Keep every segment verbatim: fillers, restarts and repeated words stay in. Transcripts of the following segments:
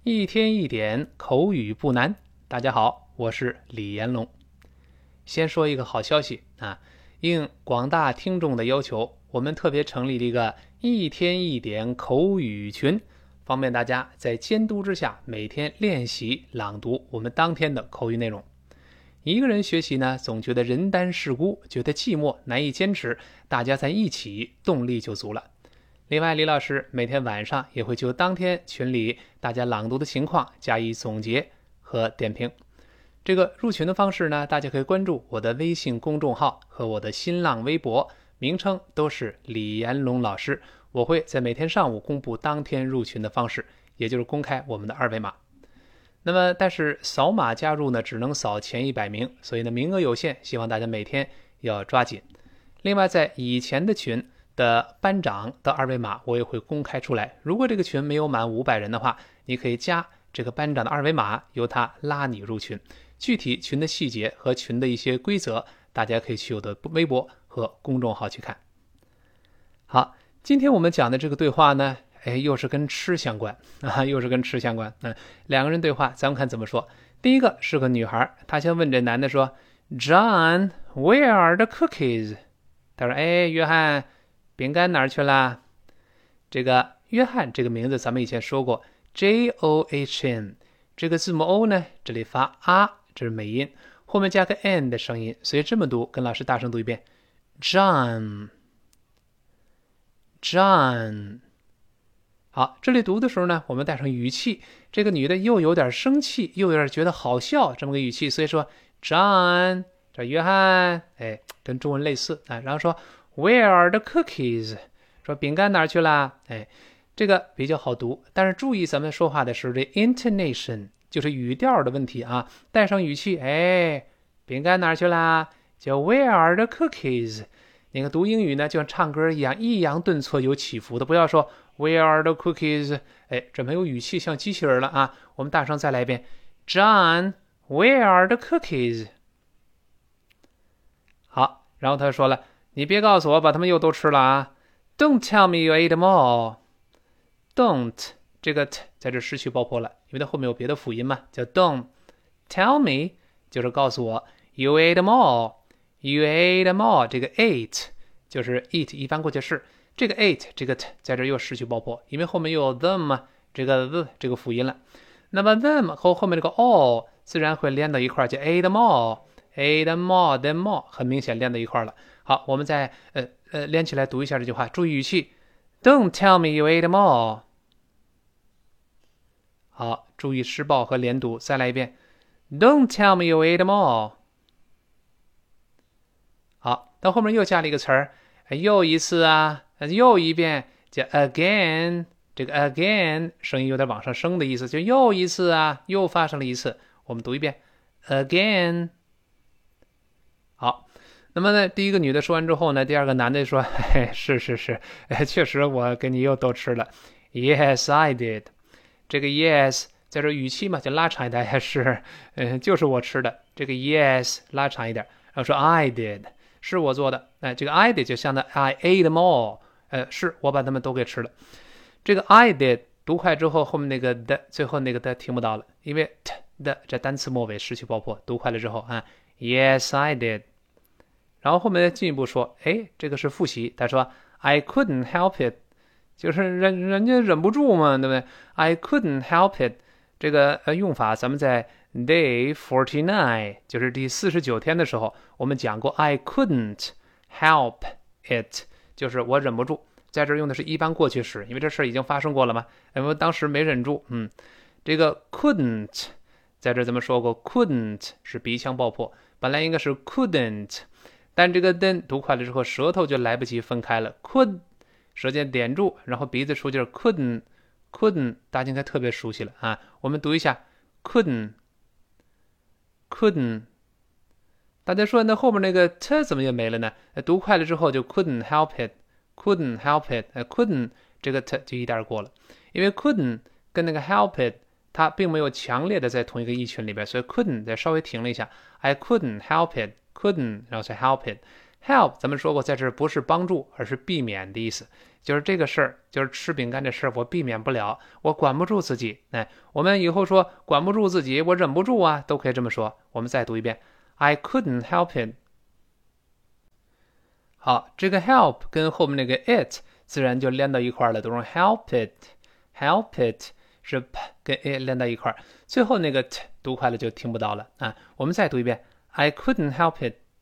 一天一点口语不难。大家好，我是李延龙。先说一个好消息啊，应广大听众的要求，我们特别成立了一个一天一点口语群，方便大家在监督之下每天练习朗读我们当天的口语内容。一个人学习呢，总觉得人单势孤，觉得寂寞，难以坚持，大家在一起，动力就足了。另外，李老师每天晚上也会就当天群里大家朗读的情况加以总结和点评。这个入群的方式呢，大家可以关注我的微信公众号和我的新浪微博，名称都是李延龙老师。我会在每天上午公布当天入群的方式，也就是公开我们的二维码。那么，但是扫码加入呢，只能扫前一百名，所以呢，名额有限，希望大家每天要抓紧。另外，在以前的群的班长的二维码我也会公开出来，如果这个群没有满五百人的话，你可以加这个班长的二维码，由他拉你入群。具体群的细节和群的一些规则，大家可以去我的微博和公众号去看。好，今天我们讲的这个对话呢，哎，又是跟吃相关啊，又是跟吃相关。嗯，两个人对话，咱们看怎么说。第一个是个女孩，她先问这男的说 ：“John, where are the cookies？” 他说：“哎，约翰，饼干哪儿去了？”这个约翰这个名字咱们以前说过 J O H N 这个字母 O 呢，这里发啊，这是美音，后面加个 N 的声音，所以这么读，跟老师大声读一遍 John John。 好，这里读的时候呢，我们带上语气，这个女的又有点生气，又有点觉得好笑，这么个语气，所以说 John 这约翰，哎，跟中文类似啊。然后说 Where are the cookies？ 说饼干哪儿去了？哎，这个比较好读，但是注意咱们说话的时候，这 intonation 就是语调的问题啊，带上语气，哎，饼干哪儿去了？叫 Where are the cookies？ 那个读英语呢，就像唱歌一样，抑扬顿挫有起伏的，不要说 Where are the cookies？ 哎，这没有语气，像机器人了啊！我们大声再来一遍 ，John, Where are the cookies？ 好，然后他说了，你别告诉我把他们又都吃了啊 ！Don't tell me you ate them all。Don't 这个 t 在这失去爆破了，因为它后面有别的辅音嘛，叫 don't。Tell me 就是告诉我 you ate them all。You ate them all， 这个 ate 就是 eat 一般过去式，这个 ate 这个 t 在这又失去爆破，因为后面又有 them 嘛，这个 the 这个辅音了。那么 them 和后面这个 all 自然会连到一块，叫 ate them all，ate them all，them all 很明显连到一块了。好，我们再呃呃连起来读一下这句话，注意语气。Don't tell me you ate them all。好，注意失爆和连读，再来一遍。Don't tell me you ate them all。好，到后面又加了一个词儿，又一次啊，又一遍，叫 again。这个 again 声音有点往上升的意思，就又一次啊，又发生了一次。我们读一遍 again。好，那么呢，第一个女的说完之后呢，第二个男的说，嘿，是是是，确实我跟你又都吃了。Yes, I did。这个 yes 在这语气嘛，就拉长一点，是，嗯，就是我吃的。这个 yes 拉长一点，然后说 I did。是我做的，哎，这个 I did 就相当 I ate them all， 呃，是我把它们都给吃了。这个 I did 读快之后，后面那个的最后那个的听不到了，因为 t 的这单词末尾失去爆破，读快了之后啊 ，Yes I did。然后后面进一步说，哎，这个是复习，他说 I couldn't help it， 就是人人家忍不住嘛，对不对 ？I couldn't help it， 这个呃用法咱们在Day forty-nine 就是第四十九天的时候，我们讲过 I couldn't help it， 就是我忍不住。在这儿用的是一般过去时，因为这事儿已经发生过了嘛，因为当时没忍住。嗯，这个 couldn't 在这儿咱们说过 couldn't 是鼻腔爆破，本来应该是 couldn't， 但这个 then 读快了之后，舌头就来不及分开了 could 舌尖点住，然后鼻子出劲儿 couldn't couldn't 大家应该特别熟悉了啊，我们读一下 couldn't couldn't。 大家说那后面那个 t 怎么也没了呢？读快了之后就 couldn't help it couldn't help it couldn't 这个 t 就一带过了，因为 couldn't 跟那个 help it 它并没有强烈的在同一个意群里边，所以 couldn't 再稍微停了一下 I couldn't help it couldn't 然后再 help it help 咱们说过，在这儿不是帮助，而是避免的意思。就是这个事儿，就是吃饼干这事儿，我避免不了，我管不住自己。哎，我们以后说管不住自己，我忍不住啊，都可以这么说。我们再读一遍 ，I couldn't help it。好，这个 help 跟后面那个 it 自然就连到一块了，读成 help it，help it 是 p 跟 it 连到一块，最后那个 t 读快了就听不到了啊。我们再读一遍 ，I couldn't help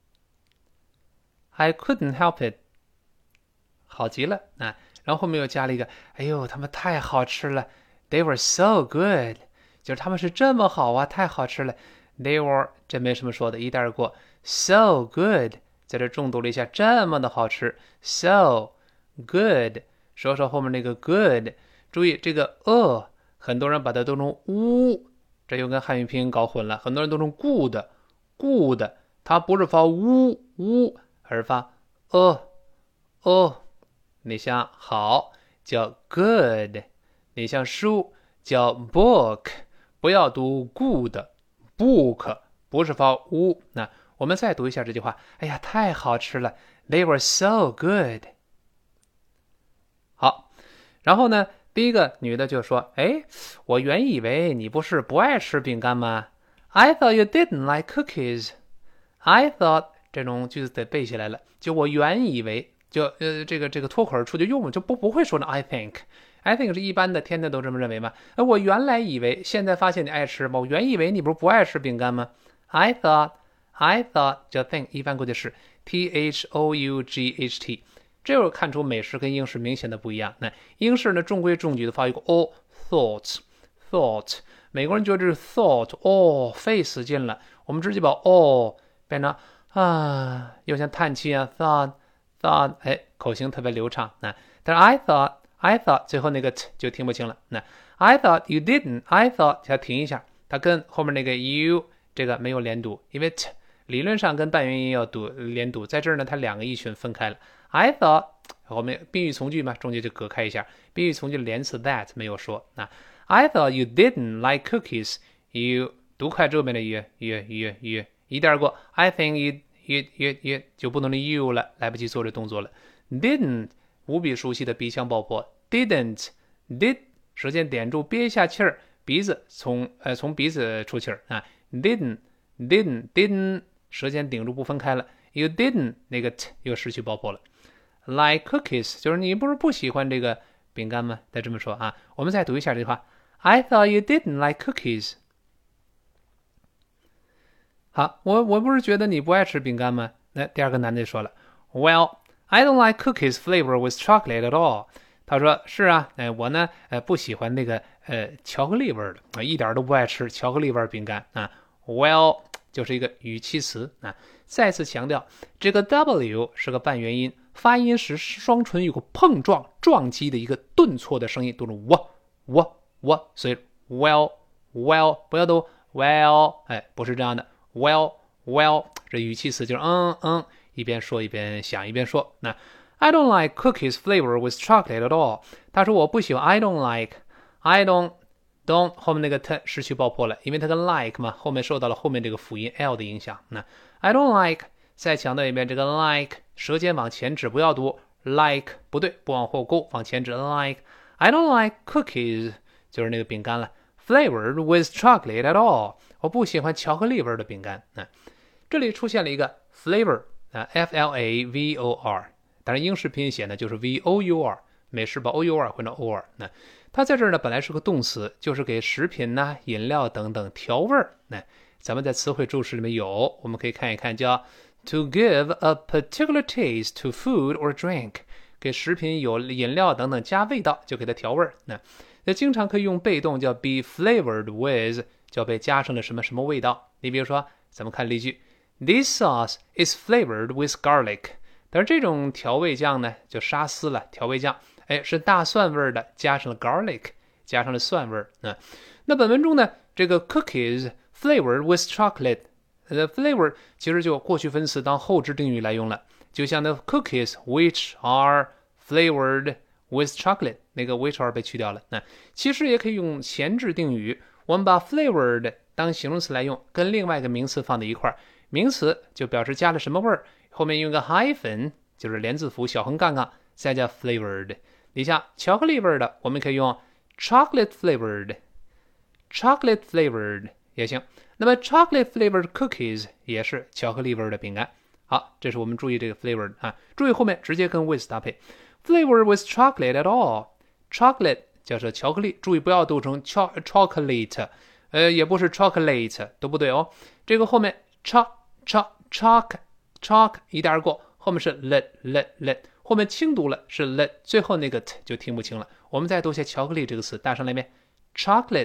it，I couldn't help it。好极了啊！然后后面又加了一个，哎呦，他们太好吃了 ，They were so good， 就是他们是这么好啊，太好吃了。They were 这没什么说的，一带而过。So good， 在这重读了一下，这么的好吃 ，so good。说说后面那个 good， 注意这个 a， 很多人把它读成呜，这又跟汉语拼音搞混了，很多人都成 good good， 它不是发呜呜，而是发 a a。你像好叫 good， 你像书叫 book， 不要读 good book， 不是发乌。那我们再读一下这句话，哎呀，太好吃了 ，They were so good。好，然后呢，第一个女的就说，哎，我原以为你不是不爱吃饼干吗 ？I thought you didn't like cookies. I thought 这种句子得背下来了，就我原以为。就呃这个这个脱口而出就用就不不会说呢 I think I think 是一般的，天天都这么认为吗？呃，我原来以为，现在发现你爱吃吗？我原以为你不是不爱吃饼干吗 ？I thought I thought 叫 think 一般过去式 T H O U G H T， 这又看出美式跟英式明显的不一样。那英式呢中规中矩的发一个 o thought thought， 美国人觉得这是 thought 哦费死劲了，我们直接把 o 变成啊，又像叹气啊 thought。thought 哎，口型特别流畅啊，但是 I thought I thought 最后那个 t 就听不清了。那 I thought you didn't I thought 要停一下，它跟后面那个 you 这个没有连读，因为 t 理论上跟半元音要读连读，在这儿呢它两个意群分开了。I thought 后面宾语从句嘛，中间就隔开一下，宾语从句连词 that 没有说。那 I thought you didn't like cookies you 读快之后面的 you you you you 一带而过 I think you you you you 就不能的 you 了，来不及做这动作了。Didn't 无比熟悉的鼻腔爆破 ，didn't did 舌尖点住憋一下气儿，鼻子从呃从鼻子出气儿啊 ，didn't didn't didn't 舌尖顶住不分开了 ，you didn't 那个 t 又失去爆破了。Like cookies 就是你不是不喜欢这个饼干吗？再这么说啊，我们再读一下这句话 ，I thought you didn't like cookies。好，我我不是觉得你不爱吃饼干吗？那第二个男的就说了 ，Well, I don't like cookies flavor with chocolate at all。他说是啊，哎，我呢，呃，不喜欢那个呃巧克力味的，啊，一点都不爱吃巧克力味饼干啊。Well 就是一个语气词啊，再次强调这个 W 是个半元音，发音时双唇有个碰撞撞击的一个顿挫的声音，读成我我我，所以 well well 不要读 well， 哎，不是这样的。Well, well， 这语气词就是嗯嗯，一边说一边想一边说。那 I don't like cookies flavor with chocolate at all。他说我不喜欢 I don't like I don't don't 后面那个 t 失去爆破了，因为它跟 like 嘛，后面受到了后面这个辅音 l 的影响。那 I don't like 再强调一遍，这个 like 舌尖往前指，不要读 like 不对，不往后勾，往前指 like I don't like cookies 就是那个饼干了。Flavored with chocolate at all， 我不喜欢巧克力味的饼干。啊，这里出现了一个 flavor 啊 ，F L A V O R， 当然英式拼写呢就是 V O U R， 美式把 O U R 换成 O R。那它在这儿呢本来是个动词，就是给食品呐、啊、饮料等等调味儿。那咱们在词汇注释里面有，我们可以看一看，叫 to give a particular taste to food or drink， 给食品有饮料等等加味道，就给它调味儿。那那经常可以用被动叫 be flavored with， 叫被加上了什么什么味道。你比如说，咱们看例句 ，This sauce is flavored with garlic。但是这种调味酱呢，就沙司了，调味酱，哎，是大蒜味的，加上了 garlic， 加上了蒜味啊。那本文中呢，这个 cookies flavored with chocolate， 呃 ，flavor 其实就过去分词当后置定语来用了，就像那 cookies which are flavored with chocolate， 那个 which are 被去掉了。那其实也可以用前置定语，我们把 flavored 当形容词来用，跟另外一个名词放在一块儿，名词就表示加了什么味儿， 后面用个 hyphen， 就是连字符小横杠杠，再加 flavored。你像巧克力味的，我们可以用 chocolate flavored，chocolate flavored 也行。那么 chocolate flavored cookies 也是巧克力味的饼干。好，这是我们注意这个 flavored 啊，注意后面直接跟 with 搭配。Flavored with chocolate at all，chocolate 叫做巧克力，注意不要读成 chocolate， 呃，也不是 chocolate， 都不对哦。这个后面 choc choc choc choc 一带而过，后面是 let let let， 后面轻读了是 let， 最后那个 t 就听不清了。我们再读下巧克力这个词，大声来一遍 chocolate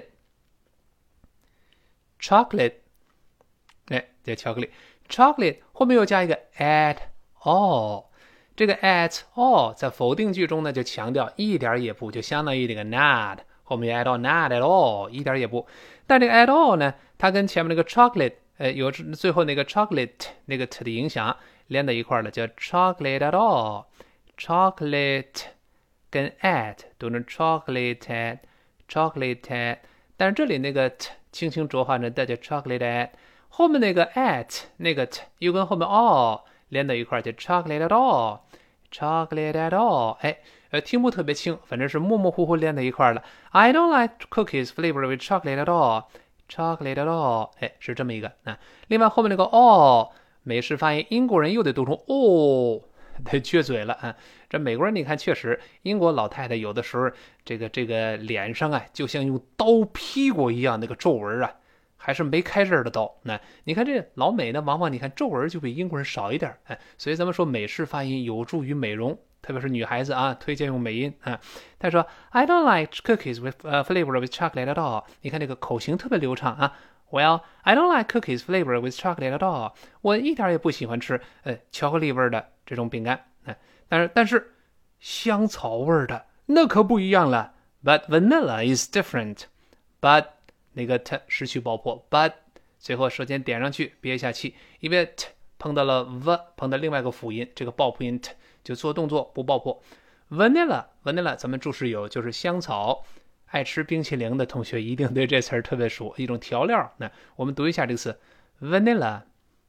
chocolate， 哎，这巧克力 chocolate 后面又加一个 at all。这个 at all 在否定句中呢，就强调一点也不，就相当于这个 not， 后面 at all not at all 一点也不。但这个 at all 呢，它跟前面那个 chocolate， 呃，有最后那个 chocolate 那个 t 的影响连在一块了，叫 chocolate at all。chocolate 跟 at 读成 chocolate at chocolate at， 但是这里那个 t 轻轻浊化成带叫 chocolate at， 后面那个 at 那个 t 又跟后面 all。连到一块就 chocolate at all chocolate at all， 哎，呃，听不特别清，反正是模模糊糊连在一块了。I don't like cookies flavored with chocolate at all chocolate at all， 哎，是这么一个啊。另外后面那个 all 美式发音，英国人又得读成 all， 得撅嘴了啊。这美国人你看，确实英国老太太有的时候这个这个脸上啊，就像用刀劈过一样，那个皱纹啊。还是没开刃的刀。那你看这老美呢，往往你看皱纹就比英国人少一点，哎，所以咱们说美式发音有助于美容，特别是女孩子啊，推荐用美音啊。他说 I don't like cookies with、uh, flavored with chocolate at all。你看这个口型特别流畅啊。Well, I don't like cookies flavored with chocolate at all。我一点也不喜欢吃呃巧克力味的这种饼干，哎，但是但是香草味的那可不一样了。But vanilla is different. But那个 t 失去爆破 ，but 最后舌尖点上去，憋一下气，因为 t 碰到了 v， 碰到另外一个辅音，这个爆破音 t 就做动作不爆破。vanilla vanilla 咱们注释有就是香草，爱吃冰淇淋的同学一定对这词儿特别熟，一种调料。那我们读一下这个词 vanilla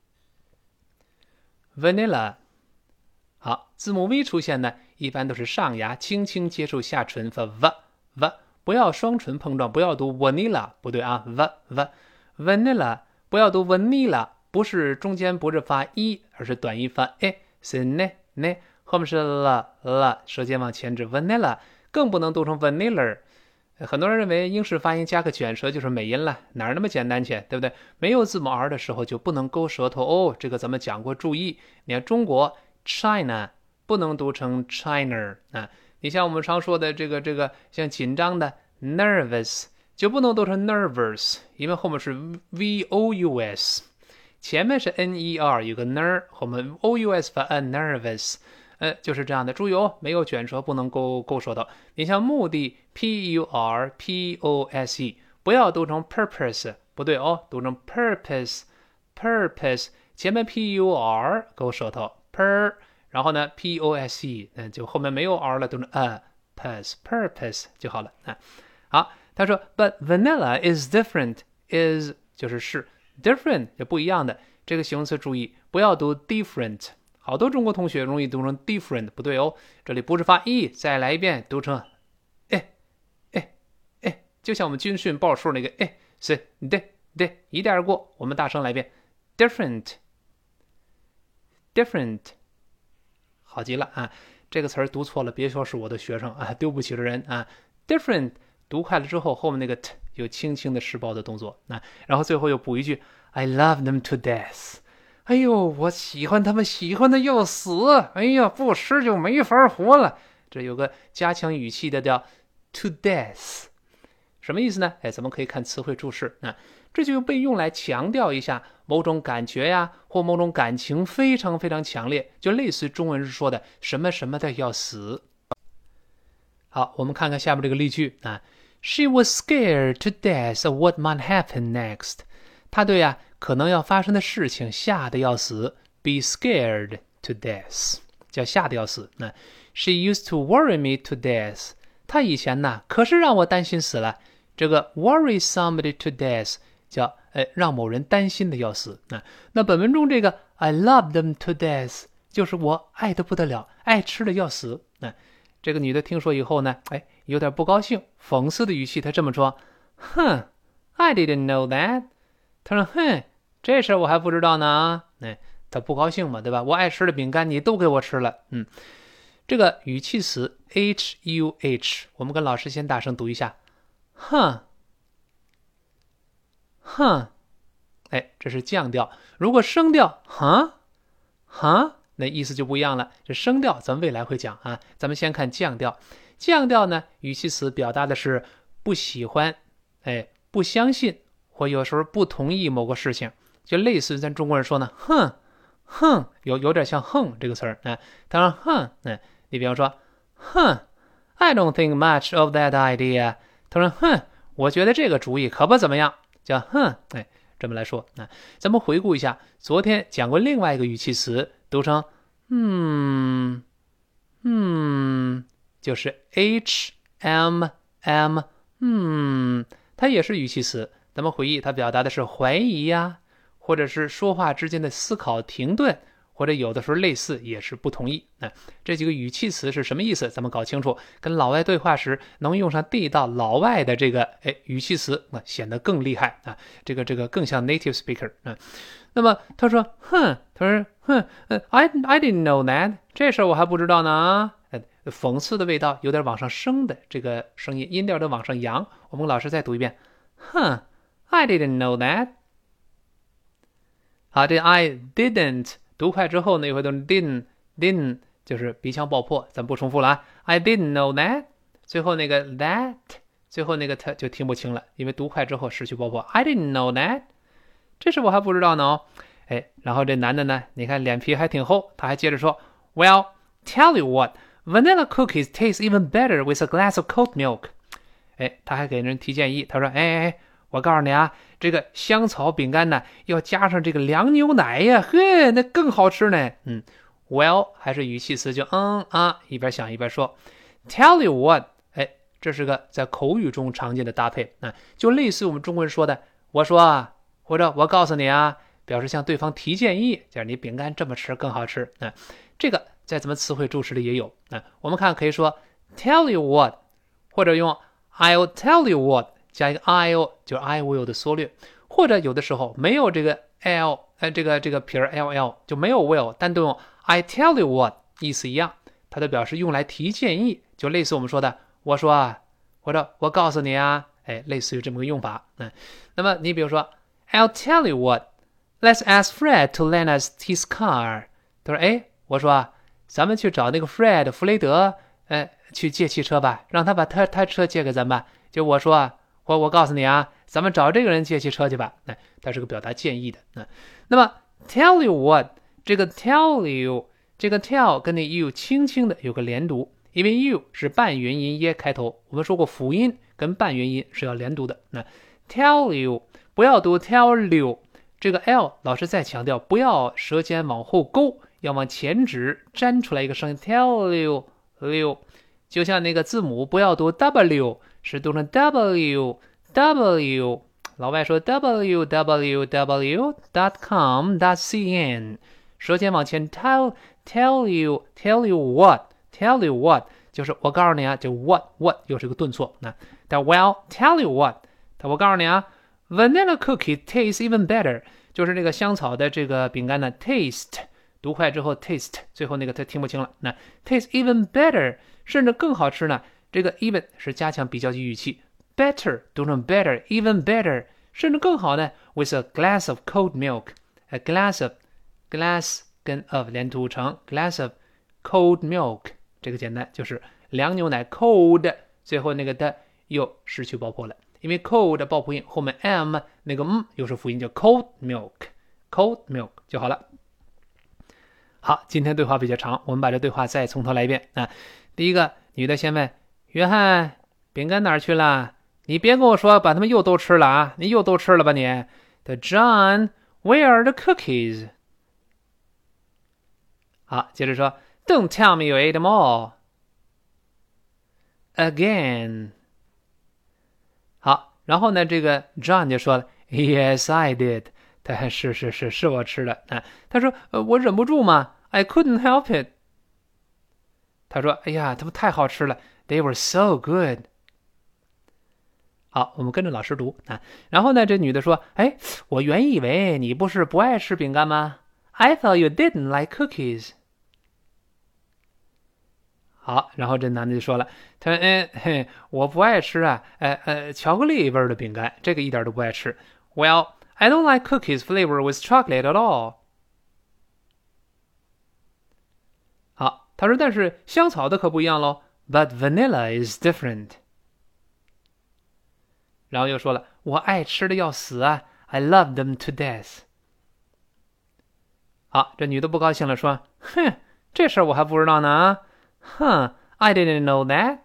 vanilla。好，字母 v 出现呢，一般都是上牙轻轻接触下唇发 v v。不要双唇碰撞，不要读 vanilla， 不对啊 v v vanilla， 不要读 vanilla， 不是中间不是发 e， 而是短音发 e， 是 ne ne， 后面是 la la， 舌尖往前指 vanilla， 更不能读成 vanilla。很多人认为英式发音加个卷舌就是美音了，哪那么简单去，对不对？没有字母 r 的时候就不能勾舌头哦，这个咱们讲过，注意。你看中国 China 不能读成 China 啊。你像我们常说的这个这个像紧张的 nervous 就不能读成 nervous， 因为后面是 v o u s， 前面是 n e r 有个 ner， 后面 o u s 发 a nervous， 呃，就是这样的。注意哦，没有卷舌不能勾勾舌头。你像目的 p u r p o s e， 不要读成 purpose， 不对哦，读成 purpose purpose， 前面 p u r 勾舌头 per。然后呢 ，p o s e， 那就后面没有 r 了，都是 a purpose purpose 就好了啊。好，他说 ，but vanilla is different is 就是是 different 就不一样的。这个形容词注意不要读 different， 好多中国同学容易读成 different， 不对哦，这里不是发 e， 再来一遍读成哎哎哎，就像我们军训报数那个哎是对对，一带而过。我们大声来一遍 different different。好极了啊！这个词儿读错了，别说是我的学生啊，丢不起的人啊。different 读快了之后，后面那个 t 有轻轻的施暴的动作啊，然后最后又补一句 I love them to death。哎呦，我喜欢他们，喜欢的要死！哎呀，不吃就没法活了。这有个加强语气的叫 to death， 什么意思呢？哎，咱们可以看词汇注释啊。这就被用来强调一下某种感觉呀，或某种感情非常非常强烈，就类似中文说的什么什么的要死。好，我们看看下面这个例句啊 ，She was scared to death of what might happen next。她对呀可能要发生的事情吓得要死 ，be scared to death， 叫吓得要死。那 She used to worry me to death。她以前呢可是让我担心死了。这个 worry somebody to death。叫呃让某人担心的要死啊。那本文中这个 I love them to death， 就是我爱得不得了，爱吃的要死。那、嗯、这个女的听说以后呢，哎，有点不高兴，讽刺的语气，她这么说：哼 I didn't know that。 她说哼，这事我还不知道呢。哎，她不高兴嘛，对吧？我爱吃的饼干你都给我吃了。嗯，这个语气词 H U H， 我们跟老师先大声读一下，哼哼，哎，这是降调。如果升调，哈哈，那意思就不一样了。这升调咱们未来会讲啊，咱们先看降调。降调呢，语气词表达的是不喜欢，哎，不相信，或有时候不同意某个事情，就类似于咱中国人说呢，哼哼，有有点像哼这个词儿啊。当然哼，嗯，你比方说，哼 I don't think much of that idea。他说，哼，我觉得这个主意可不怎么样，叫哼，哎，这么来说。那咱们回顾一下，昨天讲过另外一个语气词，读成嗯嗯，就是 H M M， 嗯，它也是语气词。咱们回忆，它表达的是怀疑呀，或者是说话之间的思考停顿，或者有的时候类似也是不同意。那这几个语气词是什么意思？咱们搞清楚，跟老外对话时能用上地道老外的这个哎语气词，那显得更厉害啊！这个这个更像 native speaker 啊。那么他说，哼，他说，哼，I I didn't know that， 这事我还不知道呢。哎，讽刺的味道有点往上升的这个声音，音调的往上扬。我们老师再读一遍，哼 I didn't know that。好，这 I didn't 读快之后呢，也会读 didn't didn't， 就是鼻腔爆破，咱不重复了啊。I didn't know that， 最后那个 that， 最后那个它就听不清了，因为读快之后失去爆破。I didn't know that， 这是我还不知道呢哦。哎，然后这男的呢，你看脸皮还挺厚，他还接着说 ，Well, tell you what, vanilla cookies taste even better with a glass of cold milk。哎，他还给人提建议，他说，哎哎哎。我告诉你啊，这个香草饼干呢，要加上这个凉牛奶呀，嘿，那更好吃呢。嗯 ，Well 还是语气词，就嗯啊，一边想一边说。Tell you what， 哎，这是个在口语中常见的搭配啊，就类似我们中国人说的，我说啊，或者我告诉你啊，表示向对方提建议，就是你饼干这么吃更好吃啊。这个在咱们词汇助词里也有啊。我们看可以说 Tell you what， 或者用 I'll tell you what。加一个 I'll， 就是 I will 的缩略，或者有的时候没有这个 L， 呃，这个这个撇 L L 就没有 will， 单独用 I tell you what， 意思一样，它的表示用来提建议，就类似我们说的，我说啊，或者我告诉你啊，哎，类似于这么个用法。嗯，那么你比如说 I'll tell you what，Let's ask Fred to lend us his car。他说，哎，我说啊，咱们去找那个 Fred 弗雷德，呃，去借汽车吧，让他把他他车借给咱们吧。就我说啊。我我告诉你啊，咱们找这个人借汽车去吧。哎，它是个表达建议的。嗯，那么 tell you what， 这个 tell you， 这个 tell 跟那 you 轻轻的有个连读，因为 you 是半元音耶开头。我们说过辅音跟半元音是要连读的。那 tell you 不要读 tell you， 这个 l 老师再强调，不要舌尖往后勾，要往前指，粘出来一个声音 tell you you， 就像那个字母不要读 w。是读成 w w， 老外说 w w w dot com dot c n， 舌尖往前 tell tell you tell you what tell you what， 就是我告诉你啊，就 what what 又是个顿挫。那但 well tell you what， 我告诉你啊 vanilla cookie tastes even better， 就是那个香草的这个饼干呢 taste 读快之后 taste 最后那个他听不清了，那 taste even better 甚至更好吃呢。这个 even 是加强比较级语气 ，better 读成 better even better， 甚至更好呢 ，with a glass of cold milk，a glass of glass 跟 of 连读成 glass of cold milk， 这个简单就是凉牛奶 cold， 最后那个的又失去爆破了，因为 cold 爆破音后面 m 那个 m 又是辅音，叫 cold milk，cold milk 就好了。好，今天对话比较长，我们把这对话再从头来一遍啊。第一个，女的先问。约翰，饼干哪儿去了？你别跟我说把他们又都吃了啊！你又都吃了吧你 ？The John, where are the cookies？ 好，接着说 ，Don't tell me you ate them all again。好，然后呢，这个 John 就说了 ，Yes, I did。 他是是是是我吃的啊。他说呃我忍不住嘛 I couldn't help it。他说哎呀，他们太好吃了 They were so good。好，我们跟着老师读啊。然后呢，这女的说：“哎，我原以为你不是不爱吃饼干吗 ？I thought you didn't like cookies。”好，然后这男的就说了：“他说，嗯嘿，我不爱吃啊，呃呃，巧克力味的饼干，这个一点都不爱吃。Well, I don't like cookies flavor with chocolate at all。”好，他说，但是香草的可不一样喽。But vanilla is different。然后又说了，我爱吃的要死啊 I love them to death。 好，这女的不高兴了，说哼，这事儿我还不知道呢啊，哼 I didn't know that。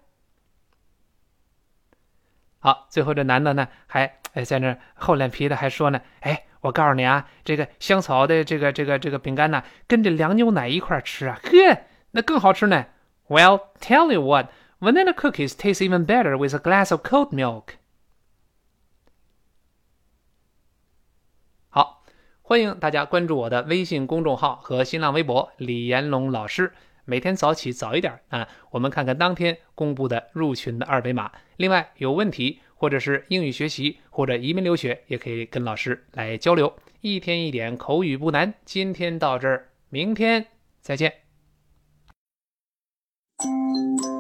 好，最后这男的呢还哎在那厚脸皮的还说呢，哎，我告诉你啊，这个香草的这个这个这个饼干呢跟这凉牛奶一块吃啊，呵，那更好吃呢。 Well, tell you what, vanilla cookies taste even better with a glass of cold milk。好，欢迎大家关注我的微信公众号和新浪微博李延龙老师，每天早起早一点啊，我们看看当天公布的入群的二维码。另外有问题或者是英语学习或者移民留学，也可以跟老师来交流。一天一点口语不难，今天到这儿，明天再见。